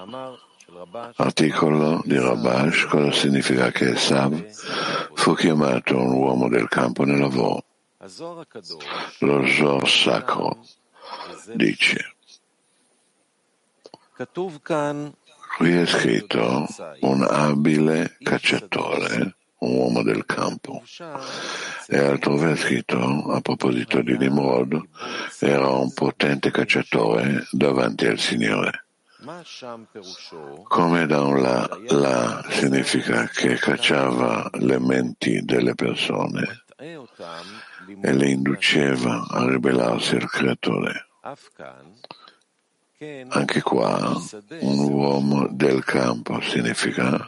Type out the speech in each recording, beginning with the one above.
Articolo di Rabash, cosa significa che Esav fu chiamato un uomo del campo nel lavoro? Lo Zohar sacro dice: qui è scritto un abile cacciatore, un uomo del campo, e altrove è scritto, a proposito di Nimrod, era un potente cacciatore davanti al Signore. Come da un là significa che cacciava le menti delle persone e le induceva a ribellarsi al Creatore. Anche qua un uomo del campo significa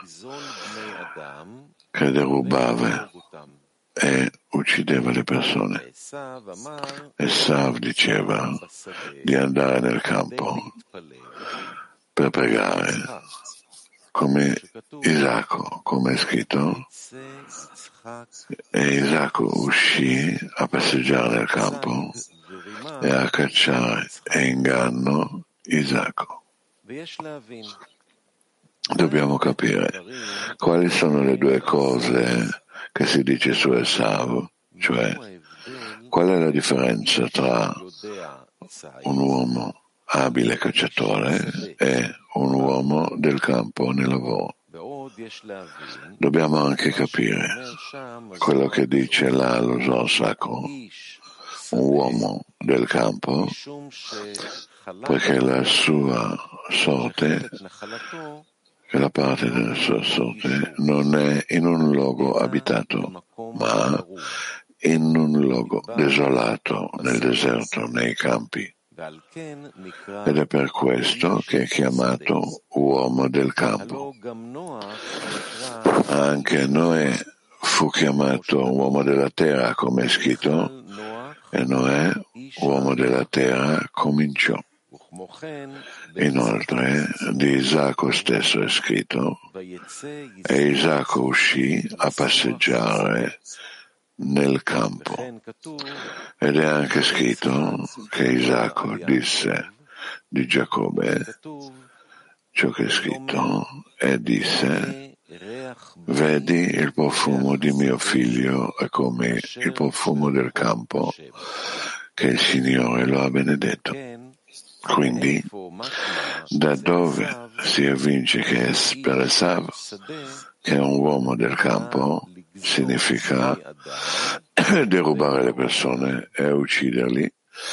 che derubava e uccideva le persone. Esav diceva di andare nel campo per pregare, come Isacco, come è scritto, e Isacco uscì a passeggiare nel campo e a cacciare e inganno Isacco. Dobbiamo capire quali sono le due cose che si dice su Esav, cioè qual è la differenza tra un uomo abile cacciatore e un uomo del campo nel lavoro. Dobbiamo anche capire quello che dice là lo Zohar sacro, un uomo del campo, poiché la sua sorte, che la parte della sua sorte non è in un luogo abitato, ma in un luogo desolato, nel deserto, nei campi. Ed è per questo che è chiamato uomo del campo. Anche Noè fu chiamato uomo della terra, come è scritto, e Noè, uomo della terra, cominciò. Inoltre, di Isacco stesso è scritto, e Isacco uscì a passeggiare nel campo. Ed è anche scritto che Isacco disse di Giacobbe ciò che è scritto e disse: vedi, il profumo di mio figlio è come il profumo del campo che il Signore lo ha benedetto. Quindi, da dove si evince che per Esav, che è un uomo del campo, significa derubare le persone e ucciderli,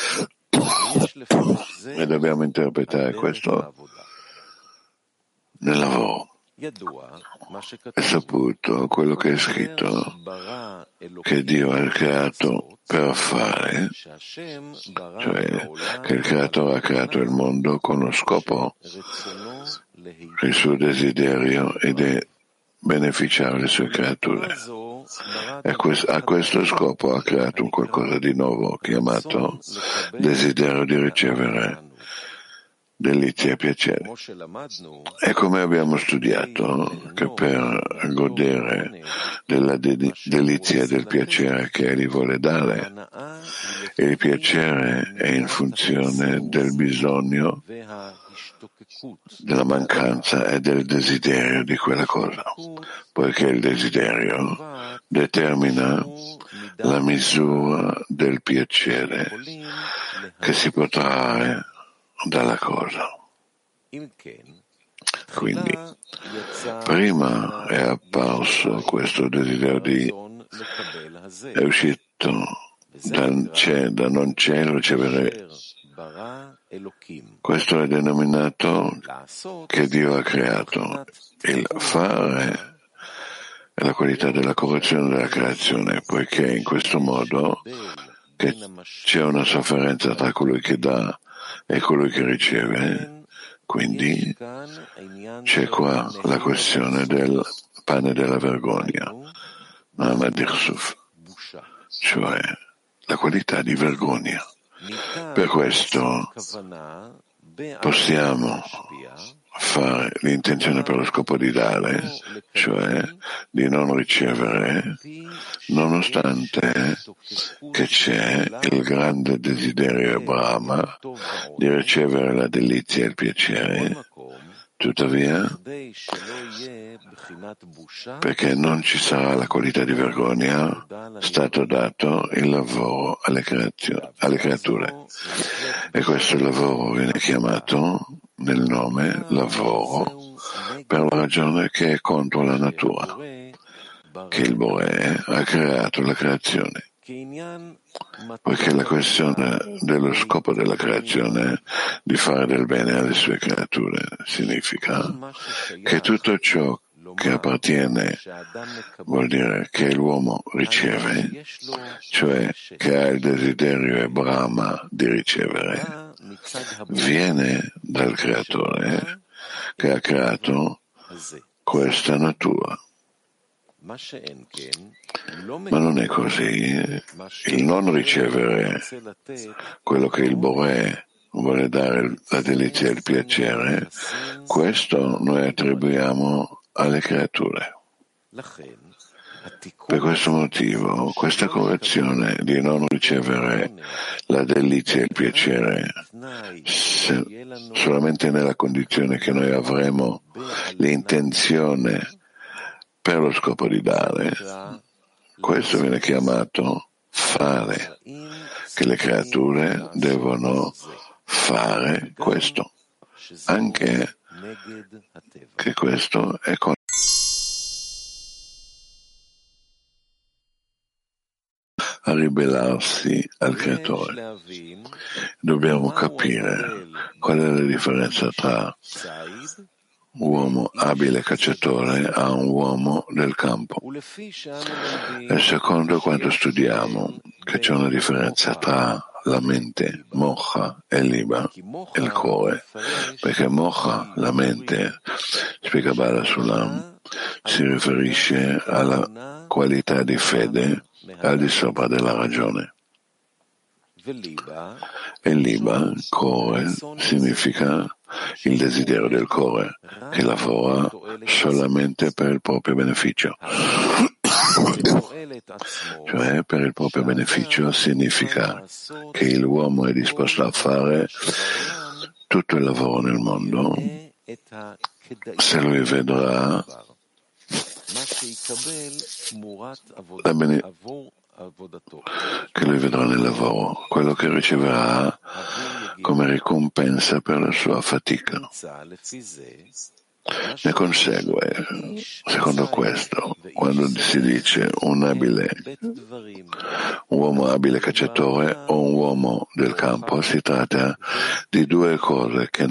e dobbiamo interpretare questo nel lavoro. È saputo quello che è scritto, che Dio ha creato per fare, cioè che il creatore ha creato il mondo con lo scopo, il suo desiderio ed è beneficiare le sue creature. E a questo scopo ha creato un qualcosa di nuovo chiamato desiderio di ricevere delizie e piacere. E come abbiamo studiato che per godere della delizia e del piacere che Egli vuole dare, il piacere è in funzione del bisogno, della mancanza e del desiderio di quella cosa, poiché il desiderio determina la misura del piacere che si può trarre dalla cosa. Quindi, prima è apparso questo desiderio è uscito da non cielo ricevere. Questo è denominato che Dio ha creato. Il fare è la qualità della correzione della creazione, poiché in questo modo che c'è una sofferenza tra colui che dà e colui che riceve, quindi c'è qua la questione del pane della vergogna, cioè la qualità di vergogna. Per questo possiamo fare l'intenzione per lo scopo di dare, cioè di non ricevere, nonostante che c'è il grande desiderio Brahma di ricevere la delizia e il piacere, Tuttavia, perché non ci sarà la qualità di vergogna, è stato dato il lavoro alle creature. E questo lavoro viene chiamato nel nome lavoro per la ragione che è contro la natura, che il Boré ha creato la creazione. Poiché la questione dello scopo della creazione di fare del bene alle sue creature significa che tutto ciò che appartiene vuol dire che l'uomo riceve, cioè che ha il desiderio e brama di ricevere, viene dal creatore che ha creato questa natura. Ma non è così. Il non ricevere quello che il Boré vuole dare, la delizia e il piacere, questo noi attribuiamo alle creature. Per questo motivo, questa correzione di non ricevere la delizia e il piacere solamente nella condizione che noi avremo l'intenzione per lo scopo di dare, questo viene chiamato fare, che le creature devono fare questo, anche che questo è a ribellarsi al creatore. Dobbiamo capire qual è la differenza tra uomo abile cacciatore a un uomo del campo. E secondo quanto studiamo che c'è una differenza tra la mente, mocha e liba, e il cuore, perché mocha, la mente, spiega Bala Sulam, si riferisce alla qualità di fede al di sopra della ragione. E liba, cuore, significa il desiderio del cuore, che lavora solamente per il proprio beneficio. Cioè, per il proprio beneficio significa che l'uomo è disposto a fare tutto il lavoro nel mondo se lui vedrà che lui vedrà nel lavoro quello che riceverà come ricompensa per la sua fatica. Ne consegue, secondo questo, quando si dice un uomo abile cacciatore o un uomo del campo, si tratta di due cose che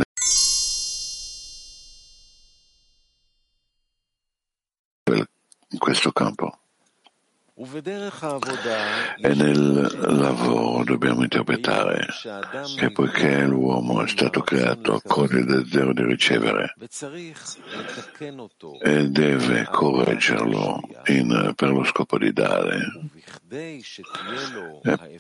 in questo campo. E nel lavoro dobbiamo interpretare che poiché l'uomo è stato creato con il desiderio di ricevere e deve correggerlo per lo scopo di dare, e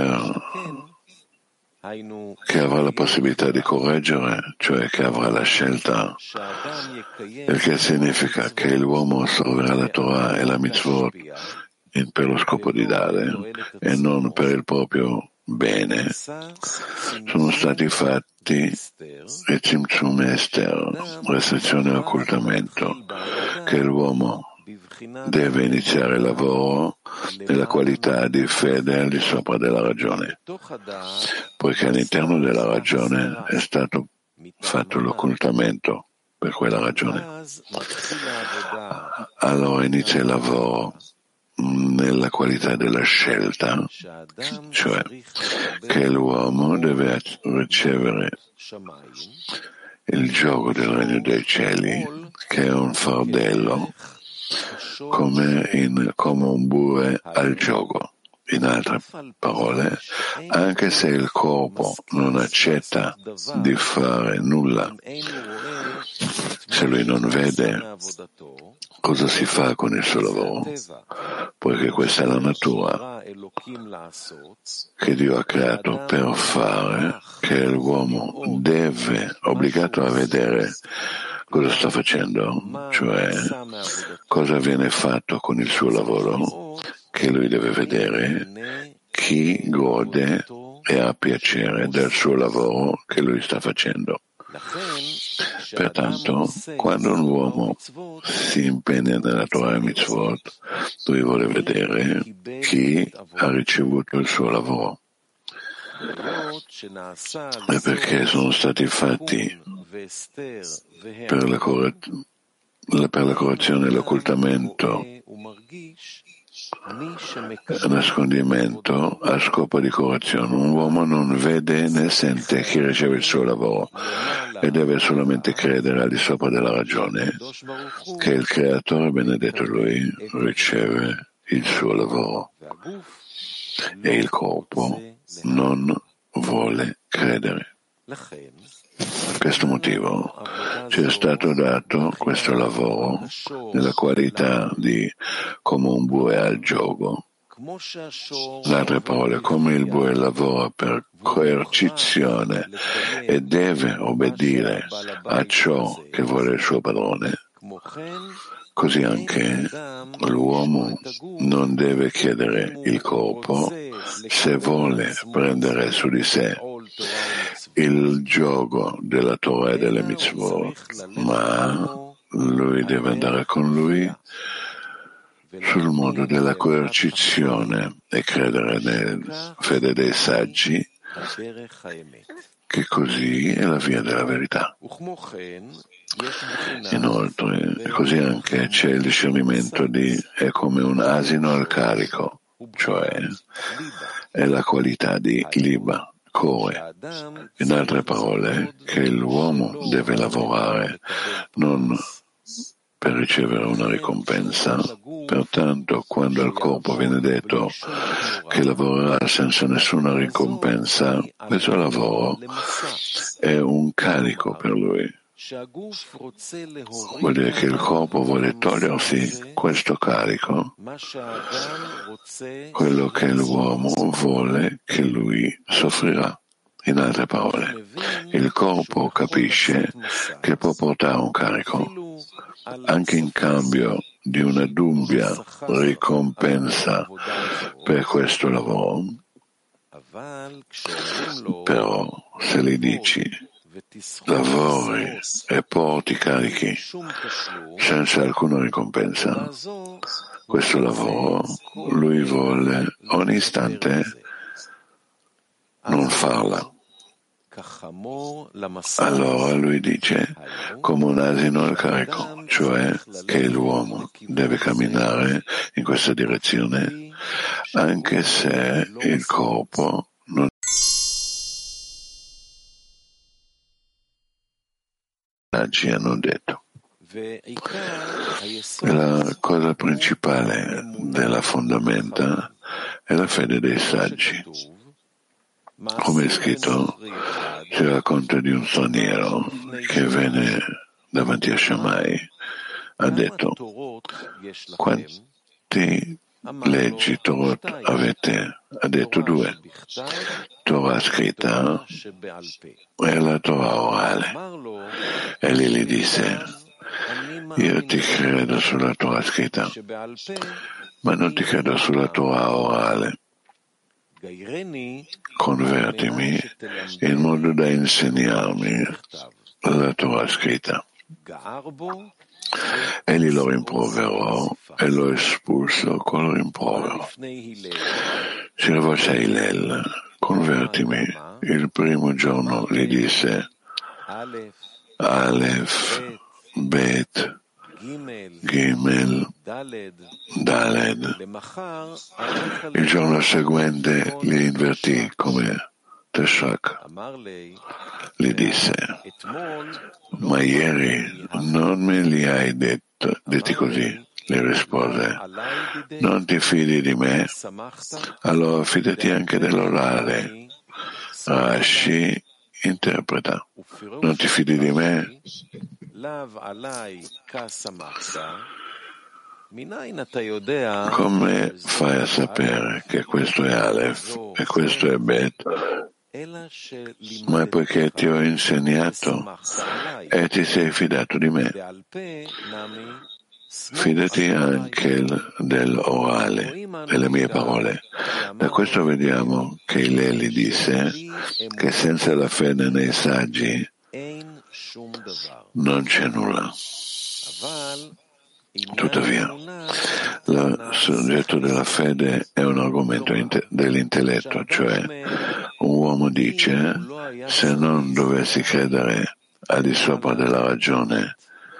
che avrà la possibilità di correggere, cioè che avrà la scelta, il che significa che l'uomo osserverà la Torah e la mitzvot per lo scopo di dare e non per il proprio bene, sono stati fatti e Tzimtzum Ester, restrizione e occultamento, che l'uomo deve iniziare il lavoro nella qualità di fede al di sopra della ragione, poiché all'interno della ragione è stato fatto l'occultamento per quella ragione. Allora inizia il lavoro nella qualità della scelta, cioè che l'uomo deve ricevere il gioco del regno dei cieli, che è un fardello, come un bue al gioco. In altre parole, anche se il corpo non accetta di fare nulla, se lui non vede cosa si fa con il suo lavoro, poiché questa è la natura che Dio ha creato per fare, che l'uomo deve, obbligato a vedere cosa sta facendo, cioè cosa viene fatto con il suo lavoro, che lui deve vedere chi gode e ha piacere del suo lavoro che lui sta facendo. Pertanto, quando un uomo si impegna nella Torah e Mitzvot, lui vuole vedere chi ha ricevuto il suo lavoro. E perché sono stati fatti per la correzione e l'occultamento nascondimento a scopo di correzione. Un uomo non vede né sente chi riceve il suo lavoro e deve solamente credere al di sopra della ragione che il Creatore benedetto lui riceve il suo lavoro e il corpo non vuole credere. Per questo motivo ci è stato dato questo lavoro nella qualità di come un bue al gioco. In altre parole, come il bue lavora per coercizione e deve obbedire a ciò che vuole il suo padrone, così anche l'uomo non deve chiedere il corpo se vuole prendere su di sé il giogo della Torah e delle mitzvot, ma lui deve andare con lui sul modo della coercizione e credere nella fede dei saggi, che così è la via della verità. Inoltre, così anche c'è il discernimento è come un asino al carico, cioè è la qualità di liba, core. In altre parole, che l'uomo deve lavorare non per ricevere una ricompensa. Pertanto, quando al corpo viene detto che lavorerà senza nessuna ricompensa, questo lavoro è un carico per lui. Vuol dire che il corpo vuole togliersi questo carico, quello che l'uomo vuole che lui soffrirà. In altre parole, il corpo capisce che può portare un carico anche in cambio di una dubbia ricompensa per questo lavoro. Però se gli dici lavori e porti carichi senza alcuna ricompensa, questo lavoro lui vuole ogni istante non farla. Allora lui dice come un asino al carico, cioè che l'uomo deve camminare in questa direzione anche se il corpo non ci hanno detto. La cosa principale della fondamenta è la fede dei saggi. Come è scritto, si racconta di un straniero che venne davanti a Shammai, ha detto: quanti leggi Torot avete? Ha detto 2, Torah scritta e la Torah orale. E lì gli disse: io ti credo sulla Torah scritta, ma non ti credo sulla Torah orale. Convertimi in modo da insegnarmi la Torah scritta. Egli lo rimproverò e lo espulso col rimprovero. Si rivolse a Hillel: convertimi. Il primo giorno gli disse: Aleph, Bet, Gimel, Daled. Il giorno seguente li invertì come Teshak. Gli disse: ma ieri non me li hai detti così? Gli rispose: non ti fidi di me? Allora fidati anche dell'orale. Rashi interpreta: non ti fidi di me? Come fai a sapere che questo è Aleph e questo è Bet? Ma è poiché ti ho insegnato e ti sei fidato di me. Fidati anche dell'orale, delle mie parole. Da questo vediamo che Hillel disse che senza la fede nei saggi non c'è nulla. Tuttavia, il soggetto della fede è un argomento dell'intelletto, cioè un uomo dice: se non dovessi credere al di sopra della ragione,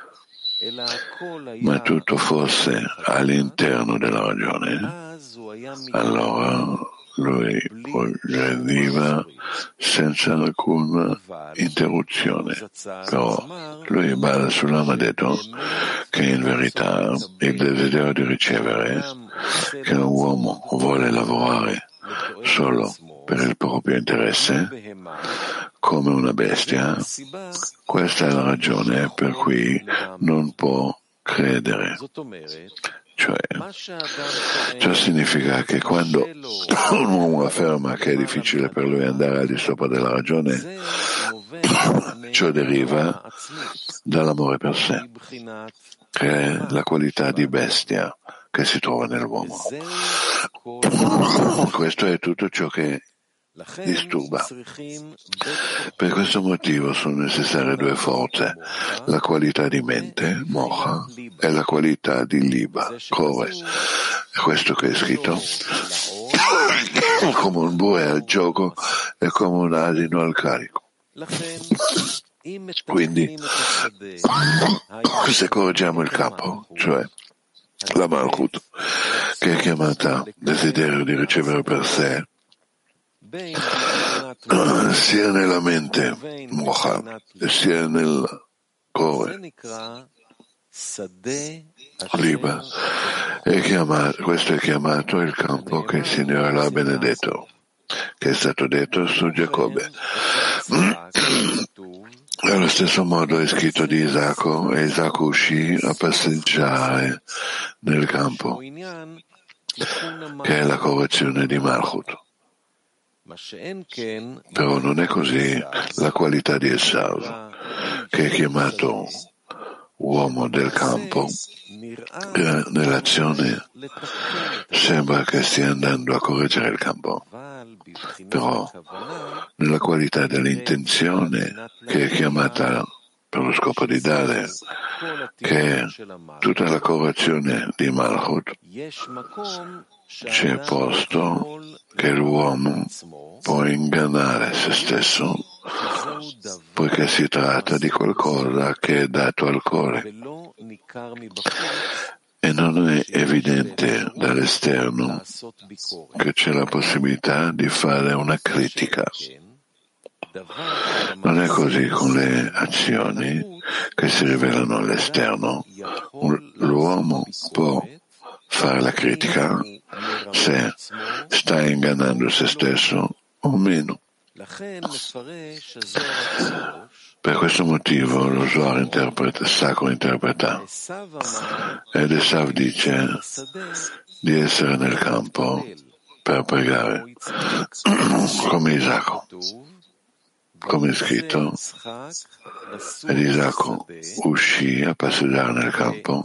ma tutto fosse all'interno della ragione, allora lui progrediva senza alcuna interruzione. Però lui basa sull'ama detto che in verità il desiderio di ricevere, che un uomo vuole lavorare solo per il proprio interesse, come una bestia, questa è la ragione per cui non può credere. Cioè, ciò significa che quando un uomo afferma che è difficile per lui andare al di sopra della ragione, ciò deriva dall'amore per sé, che è la qualità di bestia che si trova nell'uomo. Questo è tutto ciò che disturba. Per questo motivo sono necessarie due forze, la qualità di mente, mocha, e la qualità di liba, core. È questo che è scritto. Come un bue al gioco e come un asino al carico. Quindi, se correggiamo il campo, cioè la Malchut, che è chiamata desiderio di ricevere per sé, sia nella mente mocha sia nel cuore liba, questo è chiamato il campo che il Signore l'ha benedetto, che è stato detto su Giacobbe. Allo stesso modo è scritto di Isacco, e Isacco uscì a passeggiare nel campo, che è la correzione di Malchut. Però non è così la qualità di Esav, che è chiamato uomo del campo, che nell'azione sembra che stia andando a correggere il campo, però nella qualità dell'intenzione, che è chiamata per lo scopo di dare, che è tutta la correzione di Malchut, c'è posto che l'uomo può ingannare se stesso, poiché si tratta di qualcosa che è dato al cuore e non è evidente dall'esterno che c'è la possibilità di fare una critica. Non è così con le azioni che si rivelano all'esterno. L'uomo può fare la critica se sta ingannando se stesso o meno. Per questo motivo lo Zohar sacro interpreta, ed Esav dice di essere nel campo per pregare, come Isacco. Come è scritto, ed Isacco uscì a passeggiare nel campo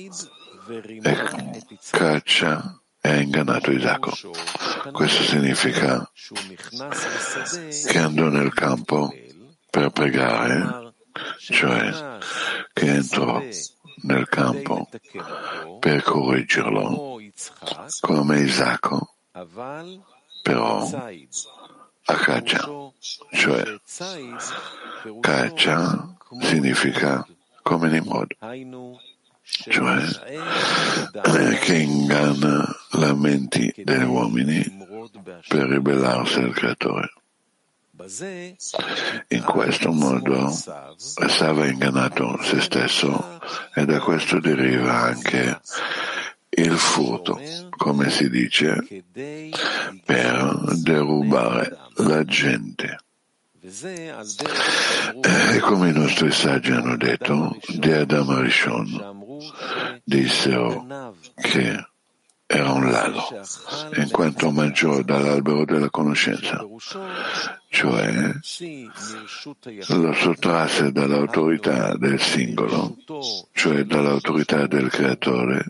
e caccia e ha ingannato Isacco. Questo significa che andò nel campo per pregare, cioè che entrò nel campo per correggerlo, come Isacco, però a caccia, cioè caccia significa come Nimrod, cioè che inganna le menti degli uomini per ribellarsi al Creatore. In questo modo Esav ha ingannato se stesso e da questo deriva anche il furto, come si dice, per derubare la gente. E come i nostri saggi hanno detto, di Adam Arishon dissero che era un ladro, in quanto mangiò dall'albero della conoscenza, cioè lo sottrasse dall'autorità del singolo, cioè dall'autorità del creatore.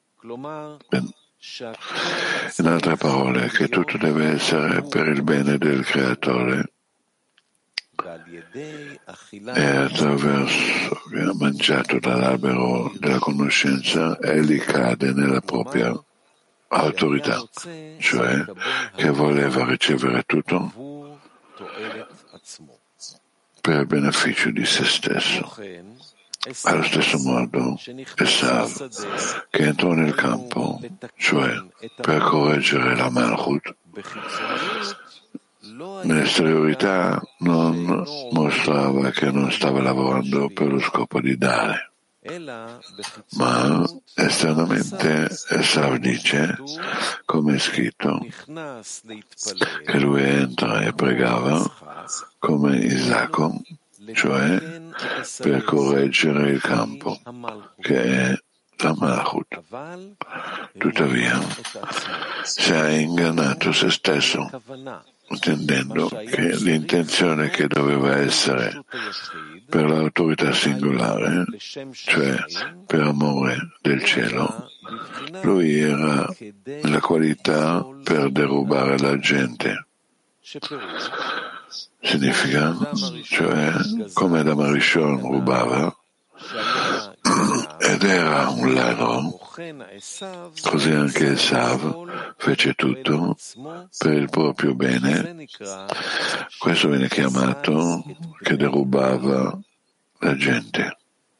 In altre parole, che tutto deve essere per il bene del creatore, e attraverso che ha mangiato dall'albero della conoscenza, egli cade nella propria autorità, cioè che voleva ricevere tutto per il beneficio di se stesso. Allo stesso modo, Esav, che entrò nel campo, cioè per correggere la Malchut, nell'esteriorità non mostrava che non stava lavorando per lo scopo di dare, ma esternamente Esav dice, come è scritto, che lui entra e pregava come Isacco, cioè per correggere il campo, che è la Malchut. Tuttavia, si è ingannato se stesso, intendendo che l'intenzione che doveva essere per l'autorità singolare, cioè per amore del cielo, lui era nella qualità per derubare la gente. Significa, cioè, come Adam Rishon rubava ed era un ladro, così anche Esav fece tutto per il proprio bene. Questo viene chiamato che derubava la gente.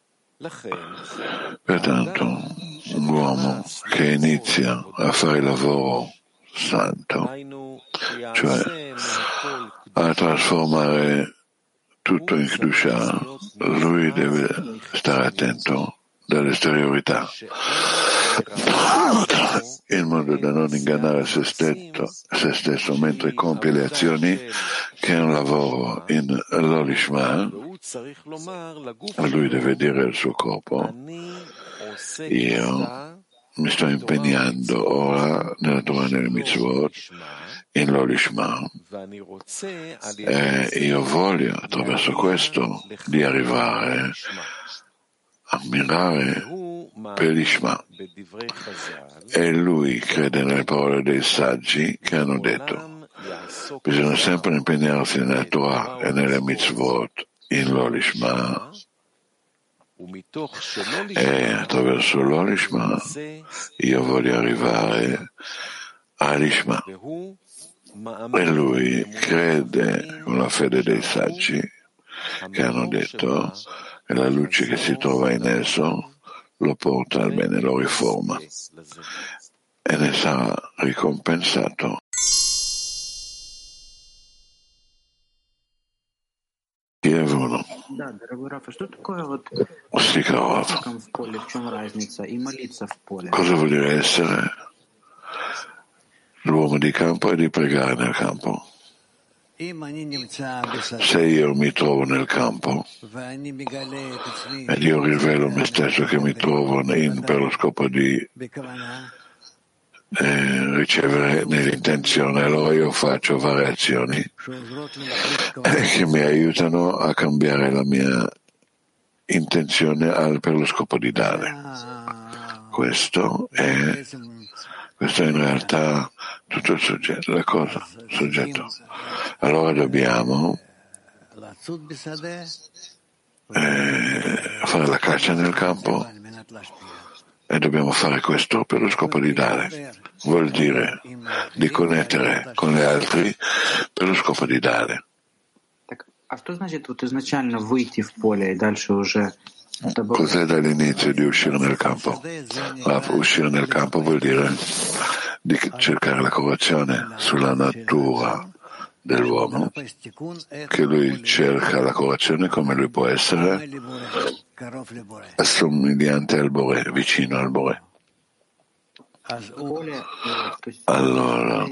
Pertanto, un uomo che inizia a fare il lavoro santo, cioè a trasformare tutto in Kedusha, lui deve stare attento dall'esteriorità, in modo da non ingannare se stesso mentre compie le azioni che è un lavoro in Lolishma. Lui deve dire al suo corpo: io mi sto impegnando ora nella Torah nelle mitzvot in Lolishma e io voglio attraverso questo di arrivare a mirare per l'Ishma. E lui crede nelle parole dei saggi che hanno detto: bisogna sempre impegnarsi nella Torah e nelle mitzvot in Lolishma, e attraverso l'Olishma io voglio arrivare all'Ishma. E lui crede con la fede dei saggi che hanno detto che la luce che si trova in esso lo porta al bene, lo riforma e ne sarà ricompensato. Да, дорогой Раф, а что такое вот в поле, в чем разница, и молиться в поле? Cosa vuol dire essere l'uomo di campo e di pregare nel campo? Se io mi trovo nel campo ed io rivelo me stesso che mi trovo per lo scopo di ricevere nell'intenzione, allora io faccio variazioni che mi aiutano a cambiare la mia intenzione per lo scopo di dare. Questo è in realtà tutto il soggetto, la cosa, il soggetto. Allora dobbiamo fare la caccia nel campo e dobbiamo fare questo per lo scopo di dare. Vuol dire di connettere con gli altri per lo scopo di dare. А что значит вот изначально выйти в поле и дальше уже? Cos'è dall'inizio di uscire nel campo? Uscire nel campo vuol dire di cercare la correzione sulla natura dell'uomo, che lui cerca la correzione come lui può essere assomigliante al Boré, vicino al Boré. Allora,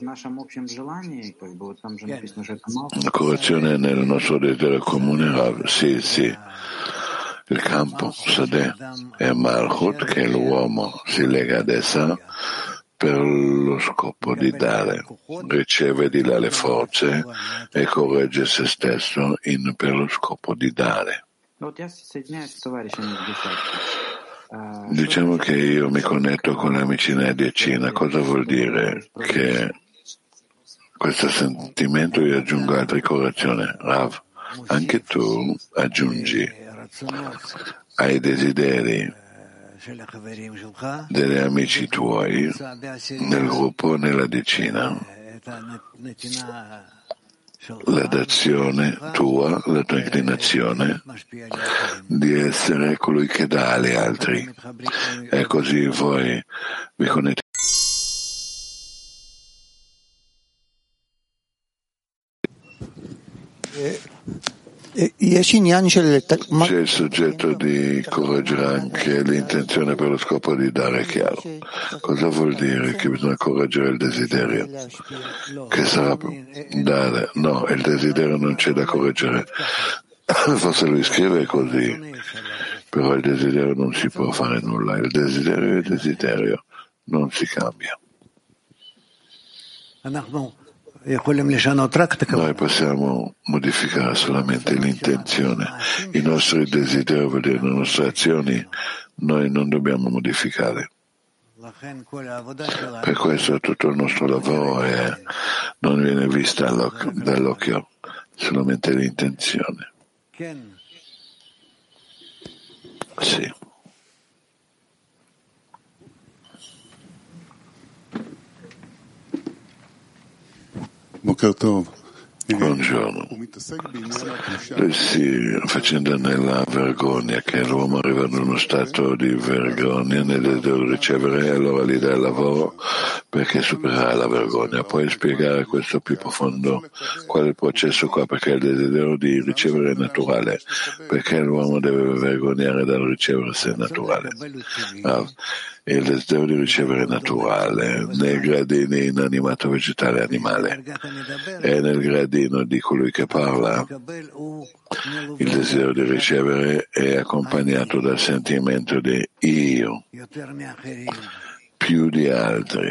la correzione è nel nostro desiderio comune, sì. Il campo, Sadeh, è Malchut, che l'uomo si lega ad essa per lo scopo di dare, riceve di là le forze e corregge se stesso per lo scopo di dare. Diciamo che io mi connetto con gli amici nella decina. Cosa vuol dire? Che questo sentimento io aggiungo altre correzioni. Rav, anche tu aggiungi ai desideri degli amici tuoi nel gruppo, nella decina, la dazione tua, la tua inclinazione di essere colui che dà agli altri, e così voi vi connettete. C'è il soggetto di correggere anche l'intenzione per lo scopo di dare chiaro. Cosa vuol dire? Che bisogna correggere il desiderio? Che sarà dare? No, il desiderio non c'è da correggere. Forse lui scrive così, però il desiderio non si può fare nulla. Il desiderio è il desiderio, non si cambia. Noi possiamo modificare solamente l'intenzione. I nostri desideri, vuol dire le nostre azioni, noi non dobbiamo modificare. Per questo tutto il nostro lavoro non viene visto dall'occhio, solamente l'intenzione. Sì. Buongiorno. Lui si faccenda nella vergogna, che l'uomo arriva ad uno stato di vergogna nel desiderio di ricevere, e allora gli dà il lavoro perché supererà la vergogna. Puoi spiegare questo più profondo? Qual è il processo qua? Perché il desiderio di ricevere è naturale, perché l'uomo deve vergognare dal ricevere se è naturale. Il desiderio di ricevere è naturale nei gradini inanimato, vegetale e animale, e nel gradino di colui che parla il desiderio di ricevere è accompagnato dal sentimento di io più di altri,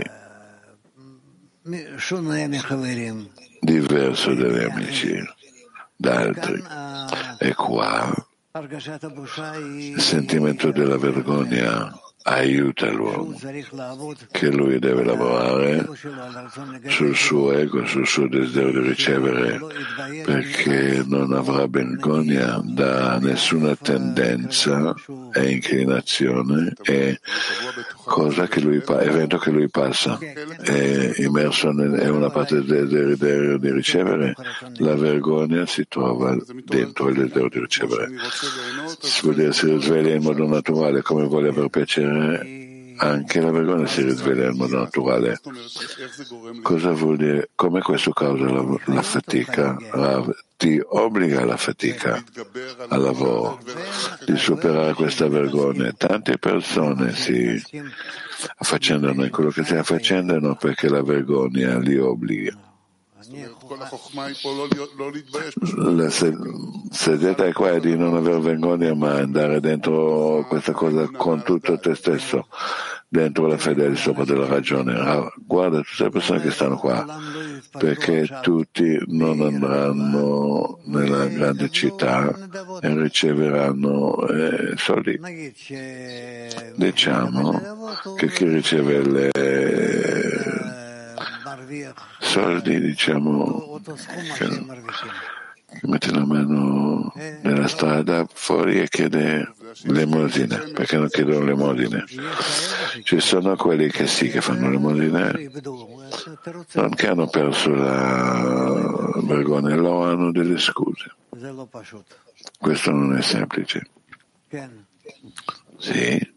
diverso dagli amici d'altri. E qua il sentimento della vergogna aiuta l'uomo, che lui deve lavorare sul suo ego, sul suo desiderio di ricevere, perché non avrà vergogna da nessuna tendenza e inclinazione e cosa che lui evento che lui passa, è immerso in una parte del desiderio di ricevere. La vergogna si trova dentro il desiderio di ricevere. Vuol dire si risveglia in modo naturale, come vuole aver piacere. Anche la vergogna si risveglia in modo naturale. Cosa vuol dire? Come questo causa la fatica? Ti obbliga alla fatica, al lavoro, di superare questa vergogna. Tante persone si affaccendano in quello che si affaccendano perché la vergogna li obbliga. La segreta è qua di non aver vergogna, ma andare dentro questa cosa con tutto te stesso, dentro la fede al sopra della ragione. Guarda tutte le persone che stanno qua, perché tutti non andranno nella grande città e riceveranno soldi. Diciamo che chi riceve le soldi, diciamo, che mette la mano nella strada fuori e chiede l'emosina, perché non chiedono l'emosina. Ci sono quelli che sì, che fanno l'emosina, non che hanno perso la vergogna, lo hanno delle scuse. Questo non è semplice. Sì.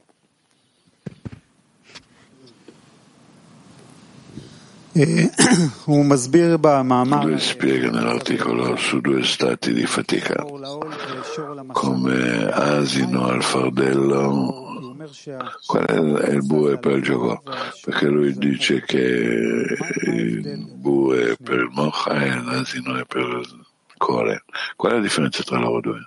Lui spiega nell'articolo su due stati di fatica, come asino al fardello. Qual è il bue per il gioco? Perché lui dice che il bue è per il mocha e l'asino è per il cuore. Qual è la differenza tra loro due?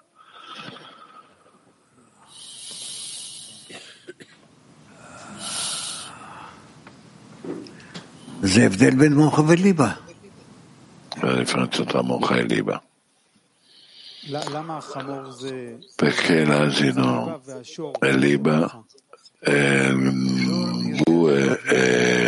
La differenza tra mocha e liba. Perché l'asino è liba e il bue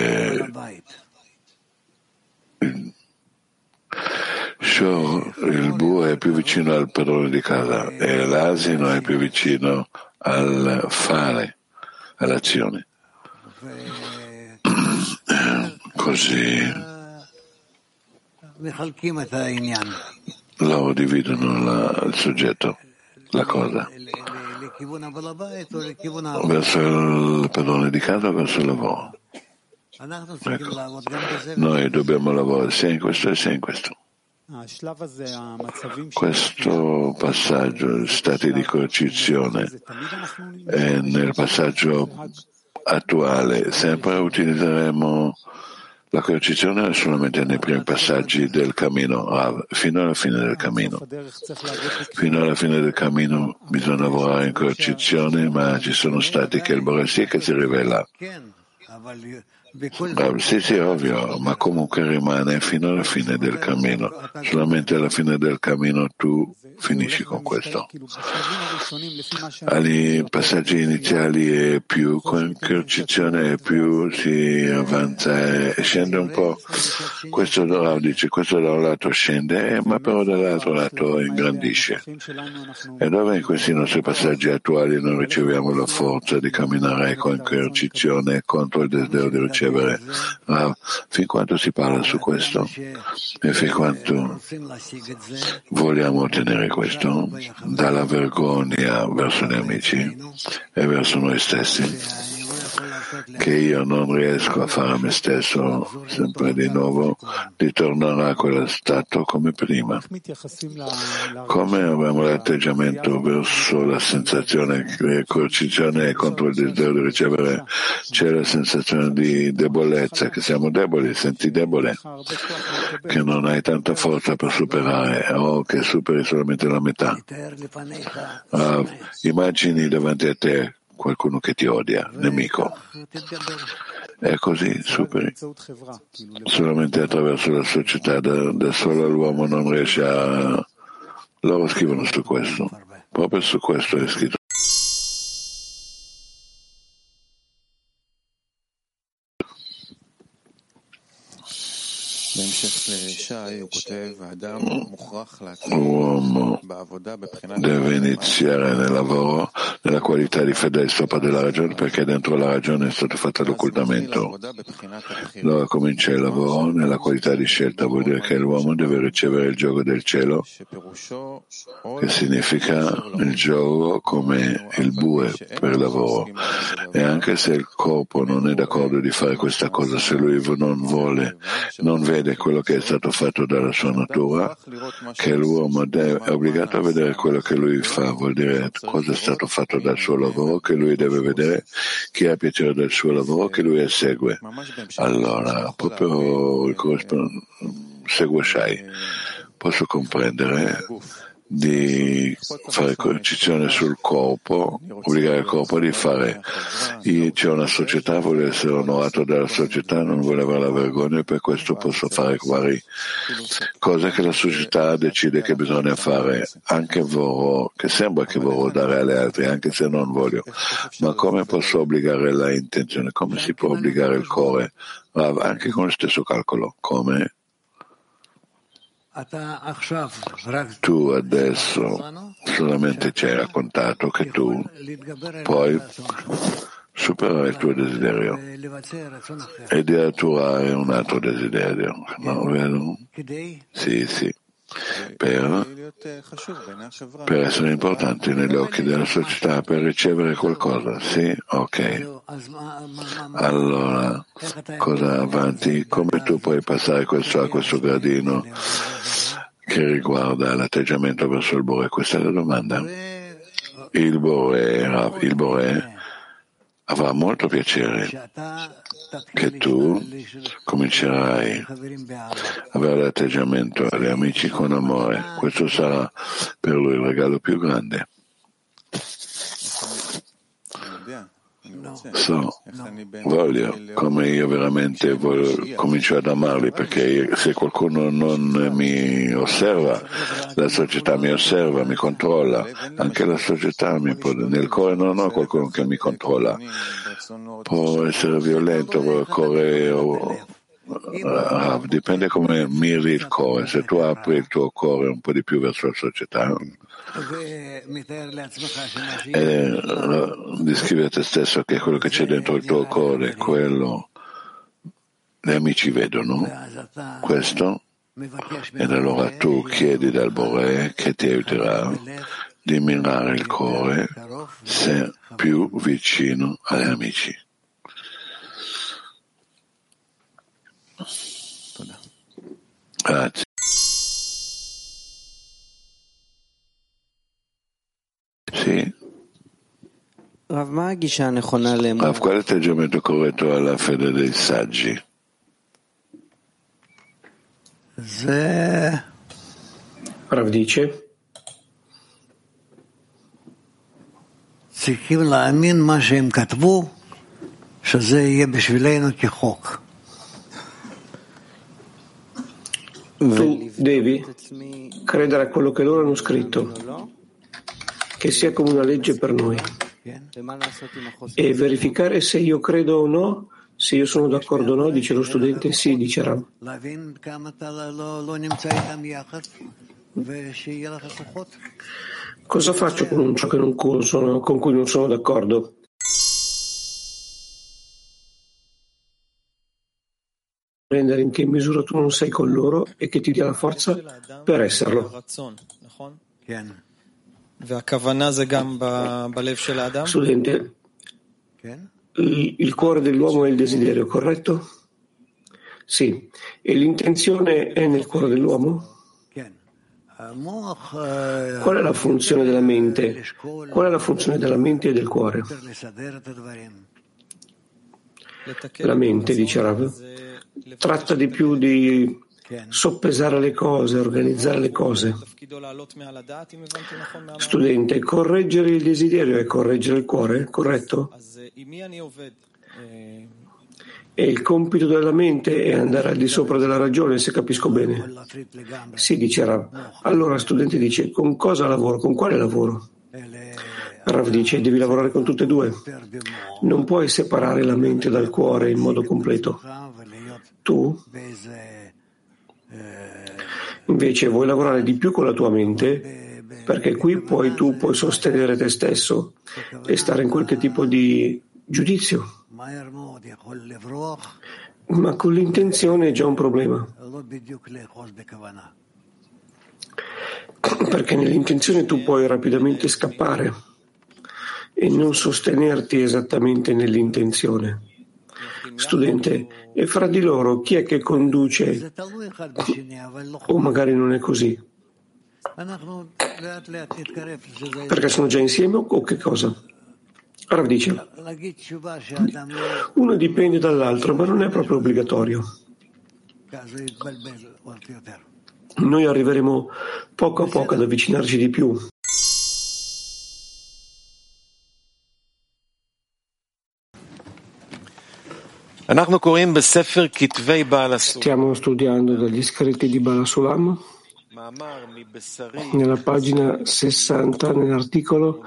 è il bue è più vicino al padrone di casa e l'asino è più vicino al fare, all'azione. Così loro dividono il soggetto, la cosa, verso il padrone di casa o verso il lavoro. Ecco. Noi dobbiamo lavorare sia in questo e sia in questo. Questo passaggio, stati di coercizione, nel passaggio attuale sempre utilizzeremo la coercizione solamente nei primi passaggi del cammino, fino alla fine del cammino. Fino alla fine del cammino bisogna lavorare in coercizione, ma ci sono stati che il Bore sì che si rivela. Sì, ovvio, ma comunque rimane fino alla fine del cammino. Solamente alla fine del cammino tu finisci con questo. Ai passaggi iniziali è più con coercizione, più si avanza e scende un po'. Questo dice, questo da un lato scende, ma però dall'altro lato ingrandisce. E dove in questi nostri passaggi attuali noi riceviamo la forza di camminare con coercizione contro il desiderio di ricevere. Fin quanto si parla su questo e fin quanto vogliamo ottenere questo dalla vergogna verso gli amici e verso noi stessi, che io non riesco a fare a me stesso sempre di nuovo, ritornerà a quello stato come prima. Come abbiamo l'atteggiamento verso la sensazione di coercizione contro il desiderio di ricevere, c'è la sensazione di debolezza, che siamo deboli, senti debole, che non hai tanta forza per superare o che superi solamente la metà. Immagini davanti a te qualcuno che ti odia, nemico. E così superi. Solamente attraverso la società, da solo l'uomo non riesce a... Loro scrivono su questo. Proprio su questo è scritto. L'uomo deve iniziare nel lavoro nella qualità di fedele sopra della ragione, perché dentro la ragione è stato fatto l'occultamento. Allora comincia il lavoro nella qualità di scelta, vuol dire che l'uomo deve ricevere il gioco del cielo, che significa il gioco come il bue per il lavoro. E anche se il corpo non è d'accordo di fare questa cosa, se lui non vuole, non vede quello che è stato fatto dalla sua natura, che l'uomo è obbligato a vedere quello che lui fa, vuol dire cosa è stato fatto dal suo lavoro, che lui deve vedere, chi ha piacere del suo lavoro, che lui esegue. Allora, proprio il segue Shai. Posso comprendere di fare coercizione sul corpo, obbligare il corpo di fare. C'è una società, vuole essere onorato dalla società, non vuole avere la vergogna, e per questo posso fare varie cose che la società decide che bisogna fare, anche vorrò, che sembra che vorrò dare agli altri, anche se non voglio. Ma come posso obbligare la intenzione? Come si può obbligare il cuore? Anche con lo stesso calcolo. Come? Tu adesso solamente ci hai raccontato che tu puoi superare il tuo desiderio e di attuare un altro desiderio, no, vero? Sì. Per essere importanti negli occhi della società, per ricevere qualcosa, sì? Ok. Allora, cosa avanti? Come tu puoi passare a questo gradino che riguarda l'atteggiamento verso il Bore? Questa è la domanda. Il Bore avrà molto piacere che tu comincerai a avere l'atteggiamento agli amici con amore. Questo sarà per lui il regalo più grande. Voglio, come io veramente comincio ad amarli, perché se qualcuno non mi osserva, la società mi osserva, mi controlla, anche la società nel cuore non ho qualcuno che mi controlla, può essere violento, Dipende come miri il cuore. Se tu apri il tuo cuore un po' di più verso la società e descrivi a te stesso che quello che c'è dentro il tuo cuore, quello gli amici vedono questo, ed allora tu chiedi dal Boré che ti aiuterà di mirare il cuore se più vicino agli amici. Grazie. Sì. Rav, qual è l'atteggiamento corretto alla fede dei saggi? Rav dice tu devi credere a quello che loro hanno scritto, che sia come una legge per noi, e verificare se io credo o no, se io sono d'accordo o no. Dice lo studente, sì, dice Rav. Cosa faccio con ciò con cui non sono d'accordo? Rendere in che misura tu non sei con loro e che ti dia la forza per esserlo. Studente, il cuore dell'uomo è il desiderio, corretto? Sì. E l'intenzione è nel cuore dell'uomo? Qual è la funzione della mente? Qual è la funzione della mente e del cuore? La mente, dice Rav, tratta di più di soppesare le cose, organizzare le cose. Studente, correggere il desiderio è correggere il cuore, corretto? E il compito della mente è andare al di sopra della ragione, se capisco bene. Sì, dice Rav. Allora studente dice, con cosa lavoro? Con quale lavoro? Rav dice, devi lavorare con tutte e due. Non puoi separare la mente dal cuore in modo completo. Tu invece vuoi lavorare di più con la tua mente, perché qui tu puoi sostenere te stesso e stare in qualche tipo di giudizio. Ma con l'intenzione è già un problema, perché nell'intenzione tu puoi rapidamente scappare e non sostenerti esattamente nell'intenzione. Studente, e fra di loro chi è che conduce? O magari non è così? Perché sono già insieme o che cosa? Rav dice, uno dipende dall'altro, ma non è proprio obbligatorio. Noi arriveremo poco a poco ad avvicinarci di più. Stiamo studiando dagli scritti di Baal HaSulam, nella pagina 60, nell'articolo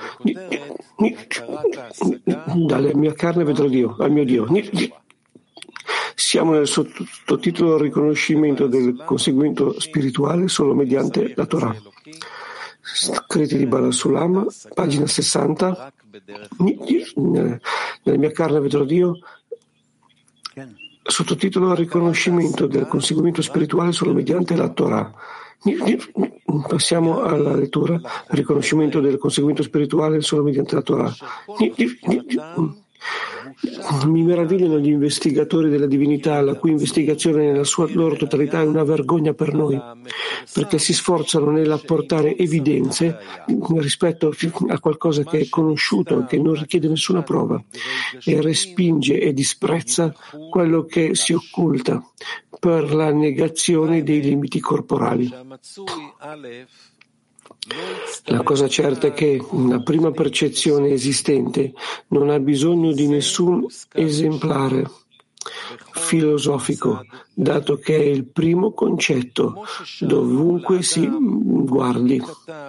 dalle mia carne vedrò Dio, al mio Dio. Siamo nel sottotitolo riconoscimento del conseguimento spirituale solo mediante la Torah. Scritti di Baal HaSulam, pagina 60, nella mia carne vedrò Dio, sottotitolo riconoscimento del conseguimento spirituale solo mediante la Torah. Passiamo alla lettura. Riconoscimento del conseguimento spirituale solo mediante la Torah. Mi meravigliano gli investigatori della divinità, la cui investigazione nella sua loro totalità è una vergogna per noi, perché si sforzano nell'apportare evidenze rispetto a qualcosa che è conosciuto, che non richiede nessuna prova, e respinge e disprezza quello che si occulta per la negazione dei limiti corporali. La cosa certa è che una prima percezione esistente non ha bisogno di nessun esemplare filosofico, dato che è il primo concetto dovunque si guardi.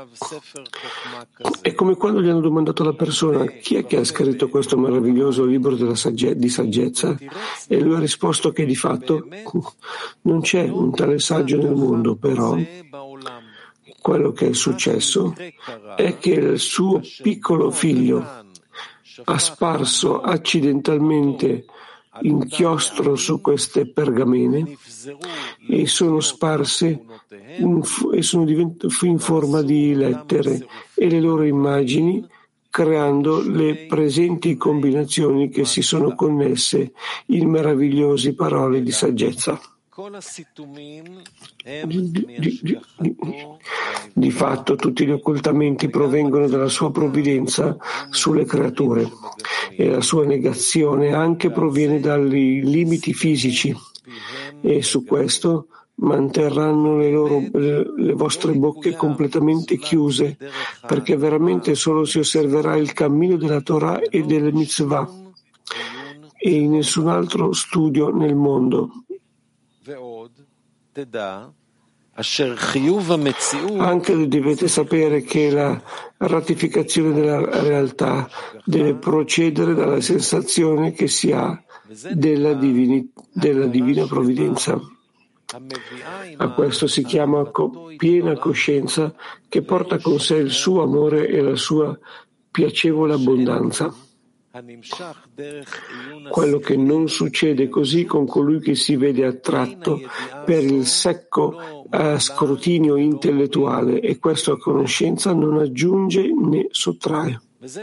È come quando gli hanno domandato alla persona: chi è che ha scritto questo meraviglioso libro di saggezza? E lui ha risposto che di fatto non c'è un tale saggio nel mondo, però quello che è successo è che il suo piccolo figlio ha sparso accidentalmente inchiostro su queste pergamene e sono sparse e sono in forma di lettere e le loro immagini, creando le presenti combinazioni che si sono connesse in meravigliose parole di saggezza. Di fatto tutti gli occultamenti provengono dalla sua provvidenza sulle creature e la sua negazione anche proviene dai limiti fisici, e su questo manterranno le vostre bocche completamente chiuse, perché veramente solo si osserverà il cammino della Torah e delle mitzvah e in nessun altro studio nel mondo. Anche dovete sapere che la ratificazione della realtà deve procedere dalla sensazione che si ha della divina provvidenza. A questo si chiama piena coscienza, che porta con sé il suo amore e la sua piacevole abbondanza. Quello che non succede così con colui che si vede attratto per il secco scrutinio intellettuale, e questo a conoscenza non aggiunge né sottrae.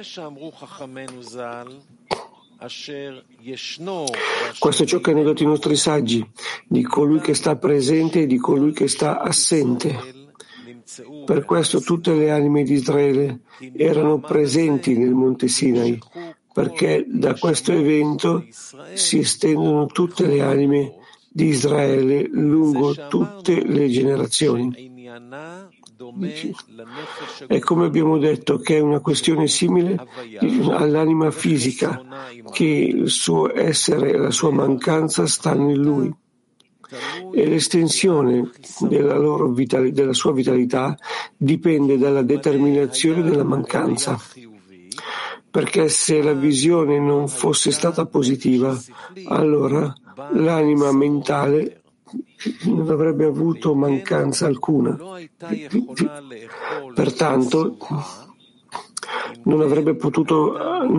Questo è ciò che hanno detto i nostri saggi, di colui che sta presente e di colui che sta assente. Per questo tutte le anime di Israele erano presenti nel Monte Sinai, perché da questo evento si estendono tutte le anime di Israele lungo tutte le generazioni. È come abbiamo detto che è una questione simile all'anima fisica, che il suo essere e la sua mancanza stanno in lui. E l'estensione della sua vitalità dipende dalla determinazione della mancanza. Perché se la visione non fosse stata positiva, allora l'anima mentale non avrebbe avuto mancanza alcuna. Pertanto non avrebbe potuto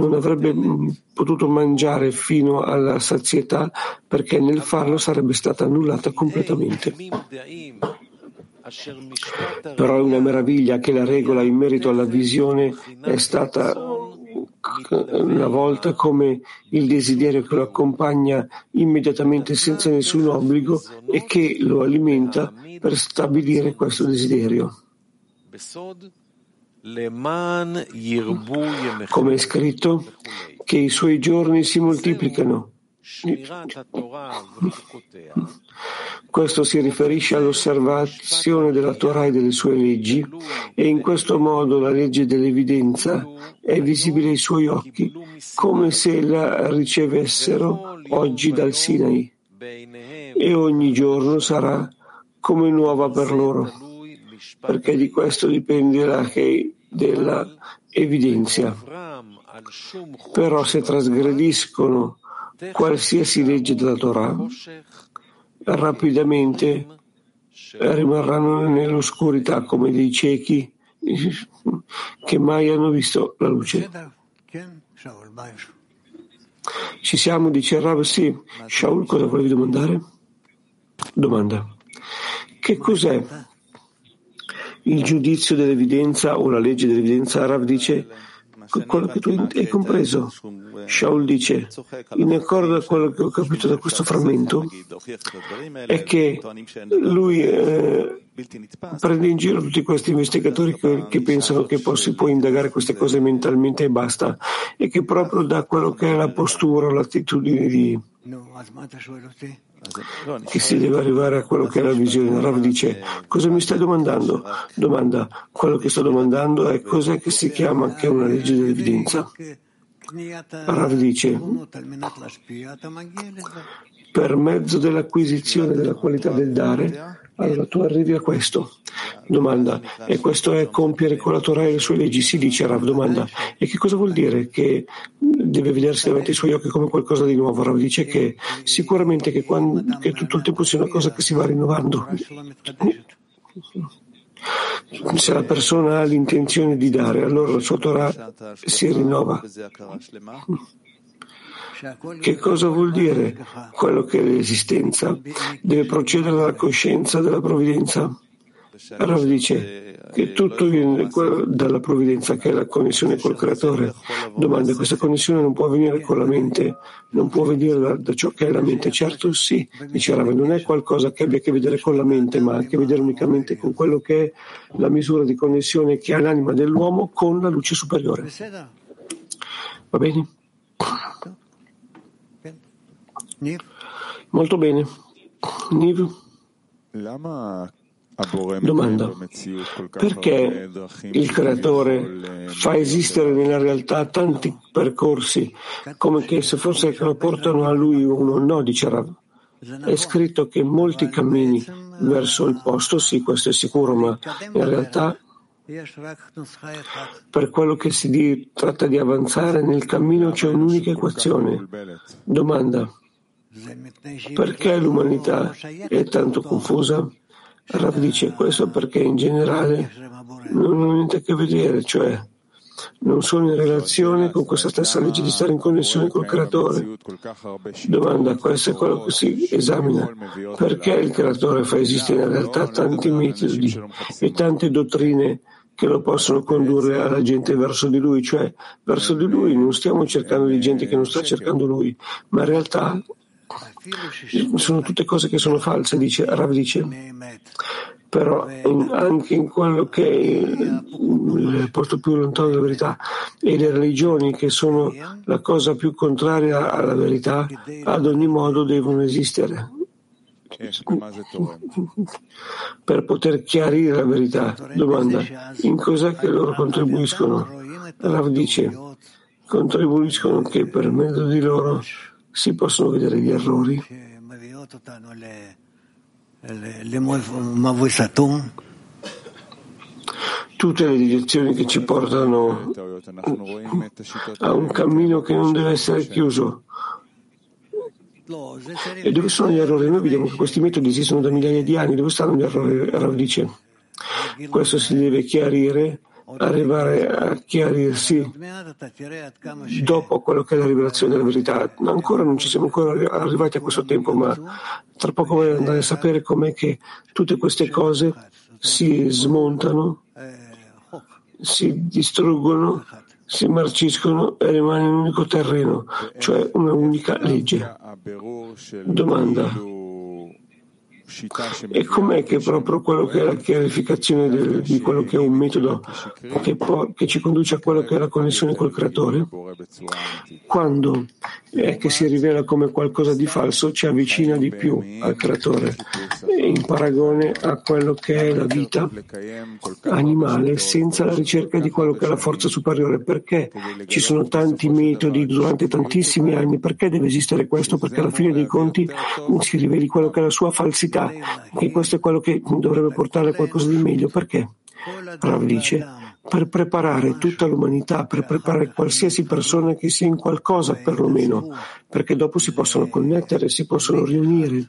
mangiare fino alla sazietà, perché nel farlo sarebbe stata annullata completamente. Però è una meraviglia che la regola in merito alla visione è stata una volta come il desiderio che lo accompagna immediatamente senza nessun obbligo e che lo alimenta per stabilire questo desiderio. Come è scritto, che i suoi giorni si moltiplicano. Questo si riferisce all'osservazione della Torah e delle sue leggi, e in questo modo la legge dell'evidenza è visibile ai suoi occhi, come se la ricevessero oggi dal Sinai, e ogni giorno sarà come nuova per loro, perché di questo dipende della evidenza. Però se trasgrediscono qualsiasi legge della Torah, rapidamente rimarranno nell'oscurità come dei ciechi che mai hanno visto la luce. Ci siamo, dice Rav? Sì. Shaul, cosa volevi domandare? Domanda: che cos'è il giudizio dell'evidenza o la legge dell'evidenza? Rav dice: quello che tu hai compreso. Shaul dice: in accordo a quello che ho capito da questo frammento, è che lui prende in giro tutti questi investigatori che pensano che si può indagare queste cose mentalmente e basta, e che proprio da quello che è la postura, l'attitudine che si deve arrivare a quello che è la visione. Rav dice: cosa mi stai domandando? Domanda: quello che sto domandando è cos'è che si chiama che è una legge dell'evidenza. Rav dice: per mezzo dell'acquisizione della qualità del dare, allora tu arrivi a questo. Domanda, e questo è compiere con la Torah e le sue leggi? Si dice Rav. Domanda, e che cosa vuol dire? Che deve vedersi davanti ai suoi occhi come qualcosa di nuovo? Rav dice che sicuramente che tutto il tempo sia una cosa che si va rinnovando. Se la persona ha l'intenzione di dare, allora la sua Torah si rinnova. Che cosa vuol dire quello che è l'esistenza? Deve procedere dalla coscienza della provvidenza. Allora dice che tutto viene dalla provvidenza, che è la connessione col creatore. Domanda, questa connessione non può avvenire con la mente, non può venire da ciò che è la mente. Certo sì, dice Rav, non è qualcosa che abbia a che vedere con la mente, ma ha a che vedere unicamente con quello che è la misura di connessione che ha l'anima dell'uomo con la luce superiore. Va bene? Molto bene. Niv? Domanda, perché il creatore fa esistere nella realtà tanti percorsi come che se fosse che lo portano a lui uno? No, dice Rav. È scritto che molti cammini verso il posto, sì, questo è sicuro, ma in realtà per quello che tratta di avanzare nel cammino c'è un'unica equazione. Domanda, perché l'umanità è tanto confusa? Rav dice questo perché in generale non hanno niente a che vedere, cioè non sono in relazione con questa stessa legge di stare in connessione col creatore. Domanda, questo è quello che si esamina. Perché il creatore fa esistere in realtà tanti metodi e tante dottrine che lo possono condurre alla gente verso di lui, cioè verso di lui non stiamo cercando di gente che non sta cercando lui, ma in realtà sono tutte cose che sono false, dice Rav dice. Però anche in quello che è il posto più lontano dalla verità e le religioni che sono la cosa più contraria alla verità, ad ogni modo devono esistere per poter chiarire la verità. Domanda, in cos'è che loro contribuiscono? Rav dice, contribuiscono che per mezzo di loro si possono vedere gli errori tutte le direzioni che ci portano a un cammino che non deve essere chiuso. E dove sono gli errori? Noi vediamo che questi metodi esistono da migliaia di anni. Dove stanno gli errori? Rav dice, questo si deve chiarire, arrivare a chiarirsi dopo quello che è la rivelazione della verità. Ancora non ci siamo ancora arrivati a questo tempo, ma tra poco voglio andare a sapere com'è che tutte queste cose si smontano, si distruggono, si marciscono e rimane un unico terreno, cioè una unica legge. Domanda, e com'è che proprio quello che è la chiarificazione di quello che è un metodo che ci conduce a quello che è la connessione col creatore? Quando è che si rivela come qualcosa di falso, ci avvicina di più al creatore, in paragone a quello che è la vita animale senza la ricerca di quello che è la forza superiore. Perché ci sono tanti metodi durante tantissimi anni? Perché deve esistere questo? Perché alla fine dei conti si riveli quello che è la sua falsità, che questo è quello che dovrebbe portare a qualcosa di meglio. Perché? Rav dice, per preparare tutta l'umanità, per preparare qualsiasi persona che sia in qualcosa perlomeno, perché dopo si possono connettere, si possono riunire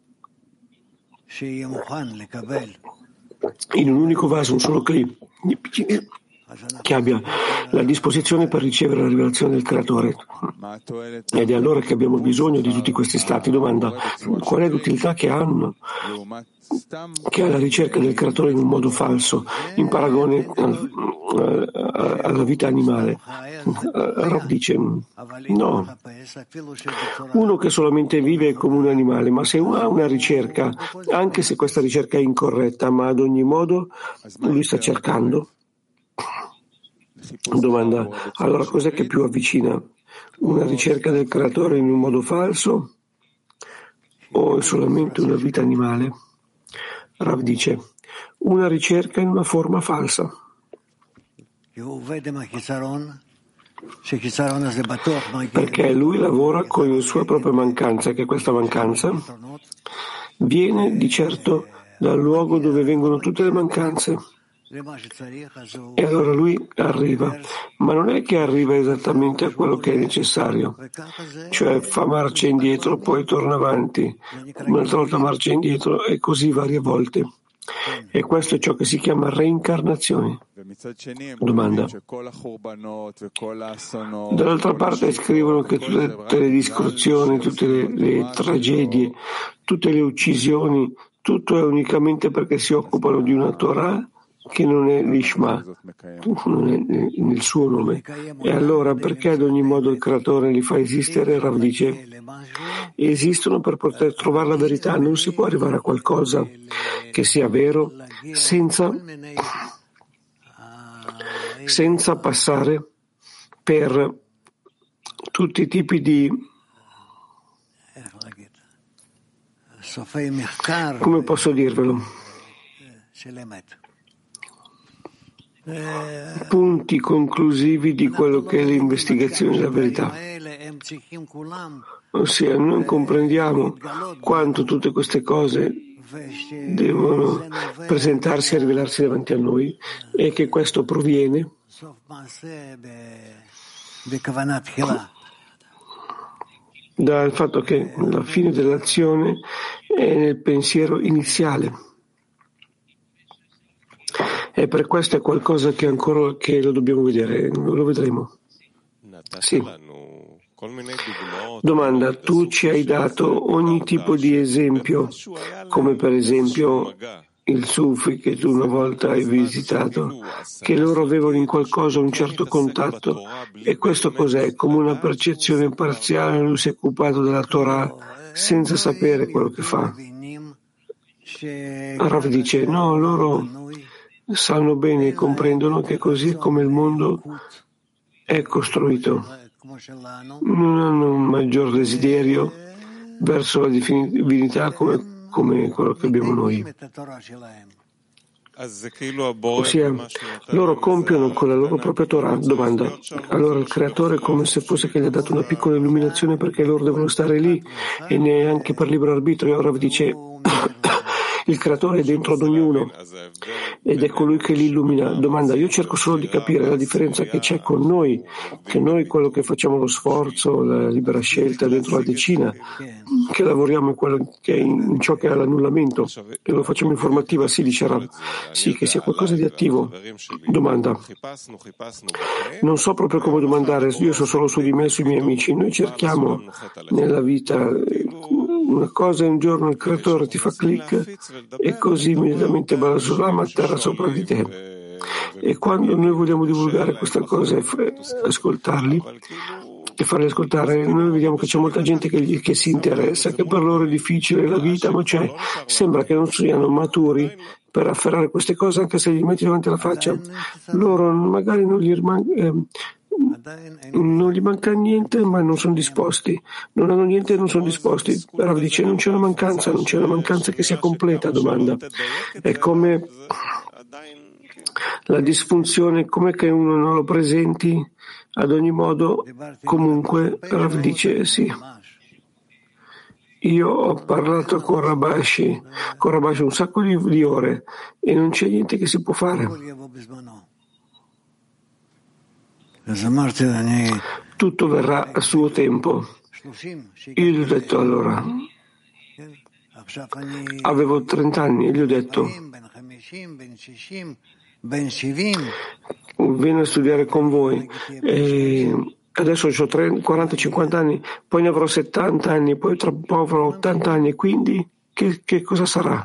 in un unico vaso, un solo clip, che abbia la disposizione per ricevere la rivelazione del creatore. Ed è allora che abbiamo bisogno di tutti questi stati. Domanda, qual è l'utilità che hanno, che ha la ricerca del creatore in un modo falso, in paragone alla vita animale? Rav dice, no, uno che solamente vive come un animale, ma se uno ha una ricerca, anche se questa ricerca è incorretta, ma ad ogni modo lui sta cercando. Domanda, allora cos'è che più avvicina? Una ricerca del creatore in un modo falso o è solamente una vita animale? Rav dice, una ricerca in una forma falsa. perché lui lavora con le sue proprie mancanze, che questa mancanza viene di certo dal luogo dove vengono tutte le mancanze. E allora lui arriva, ma non è che arriva esattamente a quello che è necessario, cioè fa marcia indietro, poi torna avanti, un'altra volta marcia indietro e così varie volte. E questo è ciò che si chiama reincarnazione. Domanda. Dall'altra parte scrivono che tutte le distruzioni, tutte le tragedie, tutte le uccisioni, tutto è unicamente perché si occupano di una Torah che non è l'Ishma, non è nel suo nome. E allora perché ad ogni modo il creatore li fa esistere? Rav dice, esistono per poter trovare la verità, non si può arrivare a qualcosa che sia vero senza passare per tutti i tipi di, come posso dirvelo, punti conclusivi di quello che è l'investigazione della verità. Ossia, noi comprendiamo quanto tutte queste cose devono presentarsi e rivelarsi davanti a noi e che questo proviene dal fatto che la fine dell'azione è nel pensiero iniziale. E per questo è qualcosa che ancora che lo dobbiamo vedere, lo vedremo. Sì. Domanda, tu ci hai dato ogni tipo di esempio, come per esempio il Sufi che tu una volta hai visitato, che loro avevano in qualcosa un certo contatto, e questo cos'è? Come una percezione parziale, lui si è occupato della Torah senza sapere quello che fa. Rav dice, no, loro sanno bene e comprendono che così è come il mondo è costruito. Non hanno un maggior desiderio verso la divinità come quello che abbiamo noi. Ossia, loro compiono con la loro propria Torah. Domanda, allora il creatore è come se fosse che gli ha dato una piccola illuminazione perché loro devono stare lì e neanche per libero arbitrio. Ora dice il creatore è dentro ad ognuno ed è colui che li illumina. Domanda, io cerco solo di capire la differenza che c'è con noi, che noi quello che facciamo lo sforzo, la libera scelta dentro la decina, che lavoriamo in, quello che è in ciò che è l'annullamento e lo facciamo informativa, sì, dice Rav, sì, che sia qualcosa di attivo. Domanda, non so proprio come domandare, io so solo su di me e sui miei amici. Noi cerchiamo nella vita una cosa e un giorno il creatore ti fa click e così immediatamente Balasulam atterra sopra di te. E quando noi vogliamo divulgare questa cosa e ascoltarli e farli ascoltare, noi vediamo che c'è molta gente che si interessa, che per loro è difficile la vita, ma sembra che non siano maturi per afferrare queste cose, anche se gli metti davanti alla faccia. Loro magari non gli manca niente, ma non sono disposti. Non hanno niente e non sono disposti. Però dice non c'è una mancanza che sia completa. Domanda, è come la disfunzione, come che uno non lo presenti ad ogni modo. Comunque Rav dice sì. Io ho parlato con Rabashi un sacco di ore e non c'è niente che si può fare. Tutto verrà a suo tempo. Io gli ho detto allora, avevo 30 anni e gli ho detto vengo a studiare con voi e adesso ho 40-50 anni, poi ne avrò 70 anni, poi tra un po' avrò 80 anni, quindi che cosa sarà?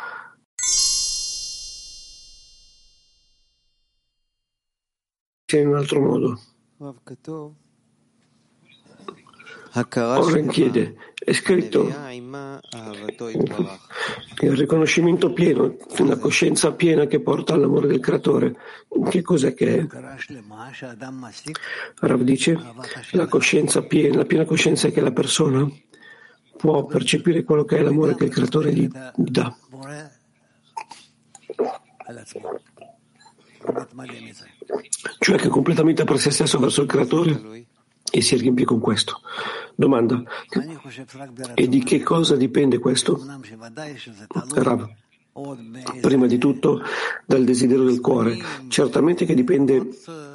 In un altro modo. Ora chiede, è scritto il riconoscimento pieno, una coscienza piena che porta all'amore del creatore. Che cos'è che è? Rav dice, la coscienza piena, la piena coscienza è che la persona può percepire quello che è l'amore che il creatore gli dà. cioè che è completamente per se stesso verso il creatore e si riempie con questo. Domanda: e di che cosa dipende questo? Rav, prima di tutto dal desiderio del cuore, certamente che dipende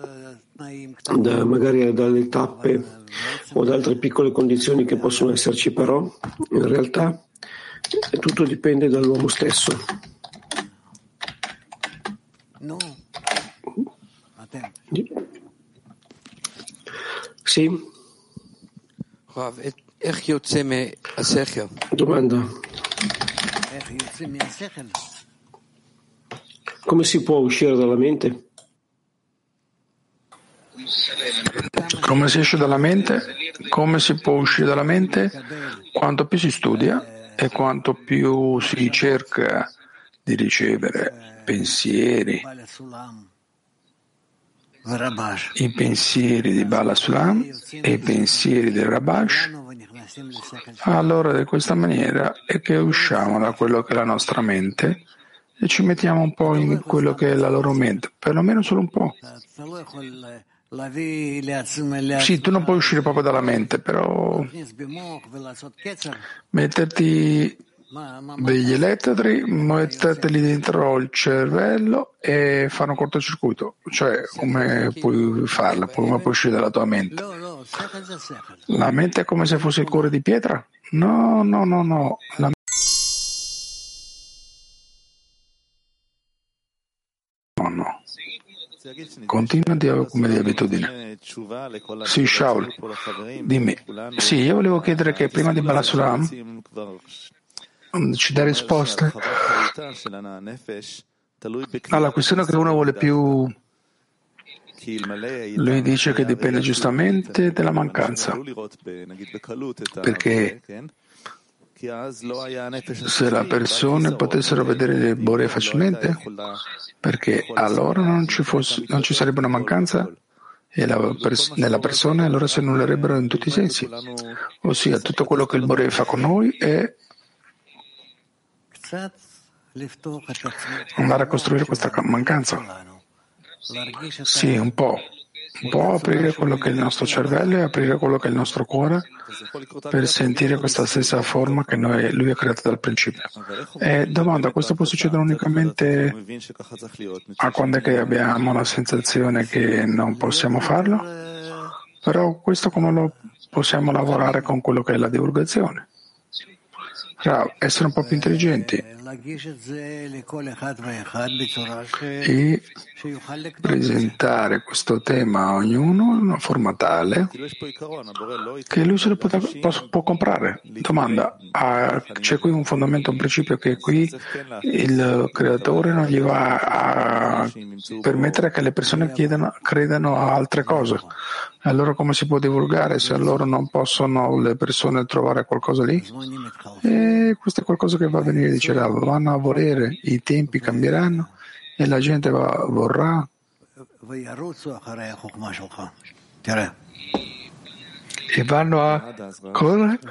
magari dalle tappe o da altre piccole condizioni che possono esserci, però in realtà tutto dipende dall'uomo stesso. Sì? Domanda: come si può uscire dalla mente? Come si esce dalla mente? Come si può uscire dalla mente? Quanto più si studia e quanto più si cerca di ricevere pensieri, i pensieri di Bala Sulam e i pensieri del Rabash, allora di questa maniera è che usciamo da quello che è la nostra mente e ci mettiamo un po' in quello che è la loro mente, perlomeno solo un po'. Sì, tu non puoi uscire proprio dalla mente, però metterti degli elettrodi, metterteli dentro il cervello e fare un cortocircuito. Cioè, come puoi farla? Come puoi uscire dalla tua mente? La mente è come se fosse il cuore di pietra? No. No. Continua come di abitudine. Sì, Shaul, dimmi. Sì, io volevo chiedere che prima di Bala Sulam ci dà risposte alla questione che uno vuole più. Lui dice che dipende giustamente dalla mancanza, perché se le persone potessero vedere le Bore facilmente, perché allora non ci sarebbe una mancanza e nella persona, allora si annullerebbero in tutti i sensi. Ossia, tutto quello che il Bore fa con noi è andare a costruire questa mancanza. Sì, un po' aprire quello che è il nostro cervello e aprire quello che è il nostro cuore per sentire questa stessa forma che lui ha creato dal principio. E domanda, questo può succedere unicamente a quando è che abbiamo la sensazione che non possiamo farlo? Però questo come lo possiamo lavorare con quello che è la divulgazione? Essere un po' più intelligenti e presentare questo tema a ognuno in una forma tale che lui se lo può comprare. Domanda, c'è qui un fondamento, un principio che qui il creatore non gli va a permettere che le persone credano a altre cose. Allora come si può divulgare se allora non possono le persone trovare qualcosa lì? E questo è qualcosa che va a venire, dice Rav, vanno a volere, i tempi cambieranno e la gente vorrà e vanno a correre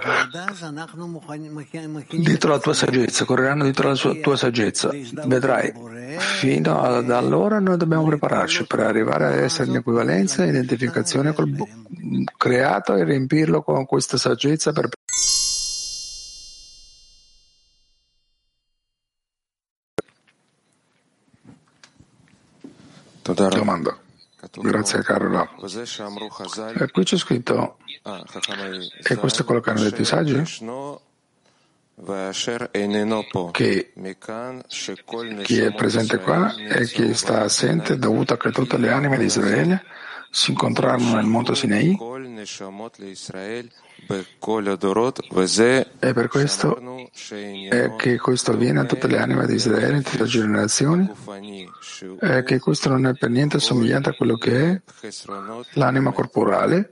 dietro la tua saggezza, correranno dietro la tua saggezza. Vedrai, fino ad allora noi dobbiamo prepararci per arrivare ad essere in equivalenza e identificazione col creato e riempirlo con questa saggezza per domanda. Grazie caro Rav. E qui c'è scritto, e questo è quello che hanno detto i saggi, che chi è presente qua e chi sta assente è dovuto a che tutte le anime di Israele si incontrarono nel monte Sinai e per questo è che questo avviene a tutte le anime di Israele in tutte le generazioni e che questo non è per niente somigliante a quello che è l'anima corporale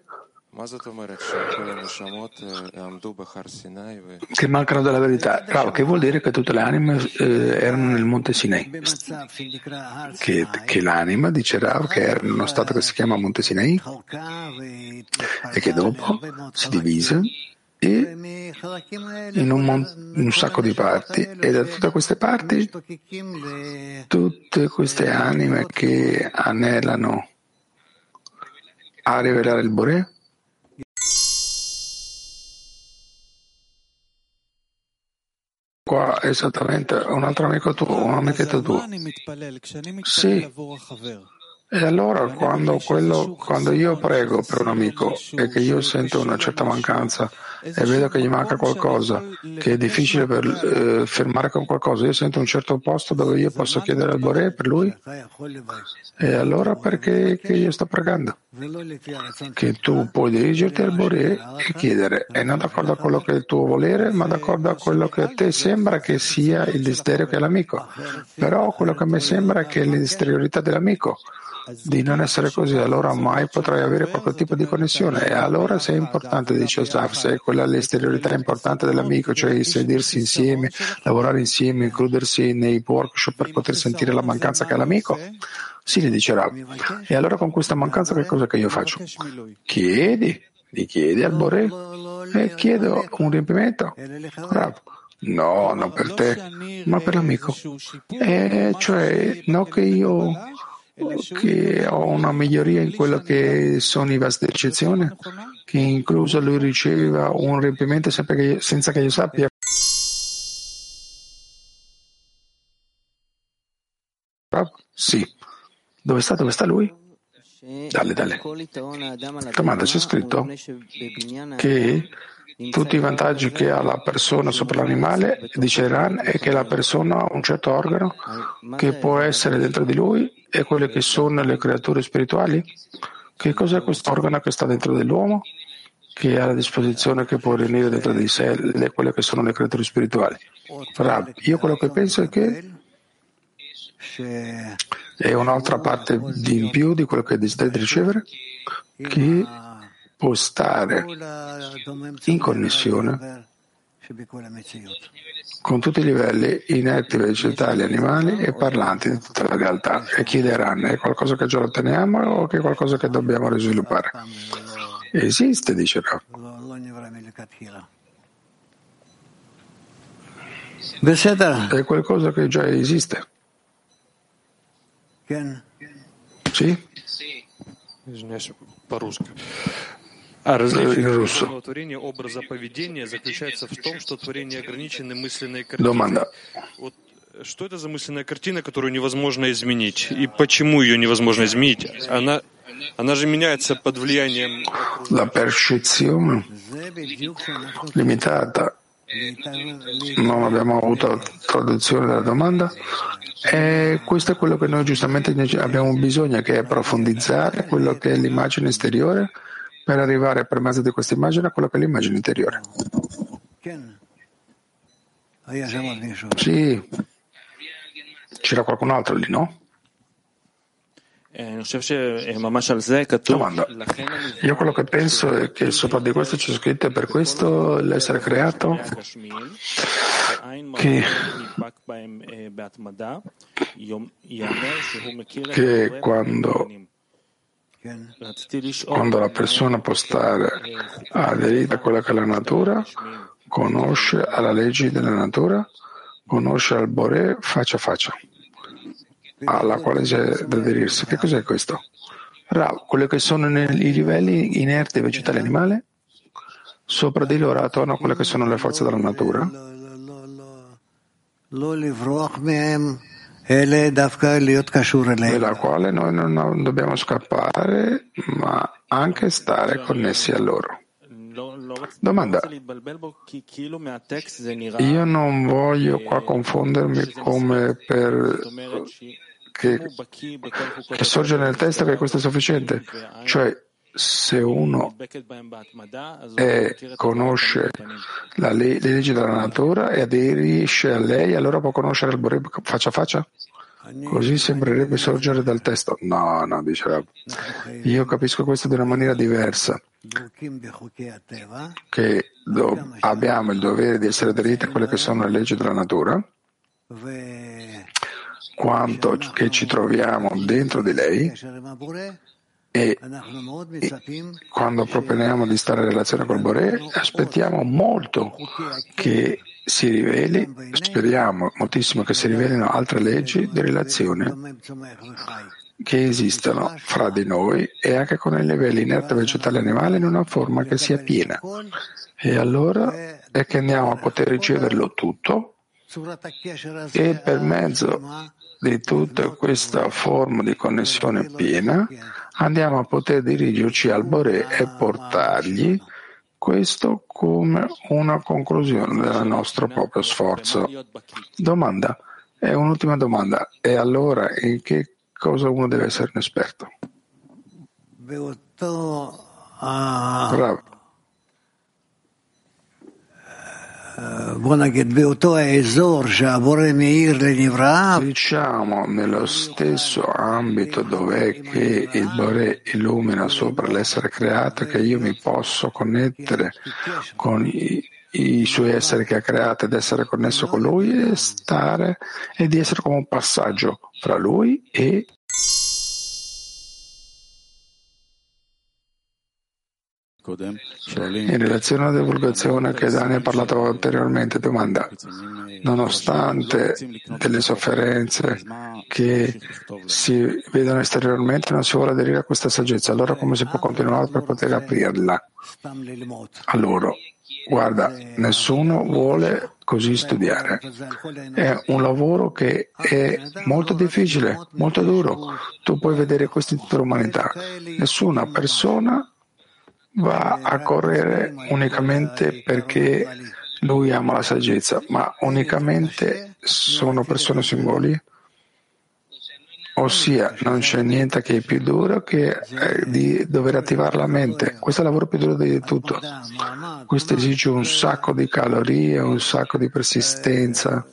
che mancano della verità. Bravo, che vuol dire che tutte le anime erano nel monte Sinai, che l'anima dice Rav che era in uno stato che si chiama monte Sinai e che dopo si divise e in un sacco di parti, e da tutte queste parti tutte queste anime che anelano a rivelare il Boré. Qua esattamente un altro amico tuo, un amichetto tuo. Sì. E allora quando io prego per un amico e che io sento una certa mancanza e vedo che gli manca qualcosa, che è difficile per fermare con qualcosa, io sento un certo posto dove io posso chiedere al Boré per lui, e allora perché che io sto pregando? Che tu puoi dirigerti al Boré e chiedere, e non d'accordo a quello che è il tuo volere, ma d'accordo a quello che a te sembra che sia il desiderio che è l'amico. Però quello che a me sembra è che è l'esteriorità dell'amico, di non essere così, allora mai potrai avere qualche tipo di connessione. E allora se è importante, dice Asaf, se quella è l'esteriorità importante dell'amico, cioè sedersi insieme, lavorare insieme, includersi nei workshop per poter sentire la mancanza che ha l'amico, sì, le dice Rav. E allora con questa mancanza che cosa che io faccio? Gli chiedi al Boré e chiedo un riempimento. Rav. No, non per te, ma per l'amico. E cioè, no che ho una miglioria in quello che sono i vasi d'eccezione, che incluso lui riceva un riempimento senza che io sappia. Sì. Dove sta lui? Dalle. Domanda, c'è scritto che tutti i vantaggi che ha la persona sopra l'animale, dice Ran, è che la persona ha un certo organo che può essere dentro di lui e quelle che sono le creature spirituali. Che cos'è questo organo che sta dentro dell'uomo, che ha a disposizione, che può riunire dentro di sé quelle che sono le creature spirituali? Rav, io quello che penso è che è un'altra parte di in più di quello che desideri ricevere, che può stare in connessione con tutti i livelli inerti, vegetali, animali e parlanti di tutta la realtà, e chiederanno: è qualcosa che già otteniamo o che è qualcosa che dobbiamo risviluppare? Esiste, dice Rav. È qualcosa che già esiste. Sì? In russo. Domanda. Что это за мысленная картина, которую невозможно изменить? И почему ее невозможно изменить? Она же меняется под влиянием... La percezione limitata. Non abbiamo avuto traduzione della domanda. E questo è quello che noi giustamente abbiamo bisogno, che è profondizzare quello che è l'immagine esteriore per arrivare per mezzo di questa immagine a quello che è l'immagine interiore. Sì. C'era qualcun altro lì, no? Domanda. Io quello che penso è che sopra di questo c'è scritto: per questo l'essere creato che quando la persona può stare aderita a quella che è la natura, conosce alla legge della natura, conosce al Boré faccia a faccia, alla quale c'è da aderirsi. Che cos'è questo? Rav, quelli che sono i livelli inerti, vegetali e animali, sopra di loro, attorno a quelle che sono le forze della natura, della quale noi non dobbiamo scappare, ma anche stare connessi a loro. Domanda. Io non voglio qua confondermi come per che sorge nel testo che questo è sufficiente. Cioè, se uno conosce le leggi della natura e aderisce a lei, allora può conoscere il Boré faccia a faccia? Così sembrerebbe sorgere dal testo. No, dice Rav. Io capisco questo di una maniera diversa, che abbiamo il dovere di essere aderiti a quelle che sono le leggi della natura, quanto che ci troviamo dentro di lei, E quando proponiamo di stare in relazione col Boré, aspettiamo molto che si riveli, speriamo moltissimo che si rivelino altre leggi di relazione che esistono fra di noi e anche con i livelli inerte vegetali e animali in una forma che sia piena. E allora è che andiamo a poter riceverlo tutto e per mezzo di tutta questa forma di connessione piena andiamo a poter dirigerci al Boré e portargli questo come una conclusione del nostro proprio sforzo. Domanda, è un'ultima domanda, e allora in che cosa uno deve essere un esperto? Bravo. Diciamo nello stesso ambito dove che il Boré illumina sopra l'essere creato, che io mi posso connettere con i suoi esseri che ha creato ed essere connesso con lui e di essere come un passaggio fra lui e in relazione alla divulgazione che Dani ha parlato anteriormente, domanda, nonostante delle sofferenze che si vedono esteriormente non si vuole aderire a questa saggezza, allora come si può continuare per poter aprirla a loro? Guarda, nessuno vuole così studiare, è un lavoro che è molto difficile, molto duro, tu puoi vedere questo in tutta l'umanità, nessuna persona va a correre unicamente perché lui ama la saggezza, ma unicamente sono persone singoli, ossia non c'è niente che è più duro che di dover attivare la mente. Questo è il lavoro più duro di tutto. Questo esige un sacco di calorie, un sacco di persistenza.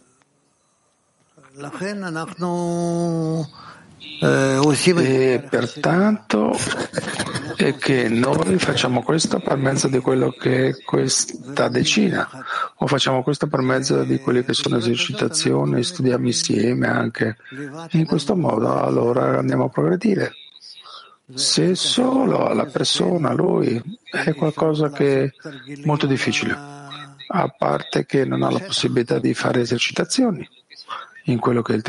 E pertanto è che noi facciamo questo per mezzo di quello che è questa decina, o facciamo questo per mezzo di quelle che sono esercitazioni, studiamo insieme anche. In questo modo allora andiamo a progredire. Se solo la persona, lui, è qualcosa che è molto difficile, a parte che non ha la possibilità di fare esercitazioni in quello che è il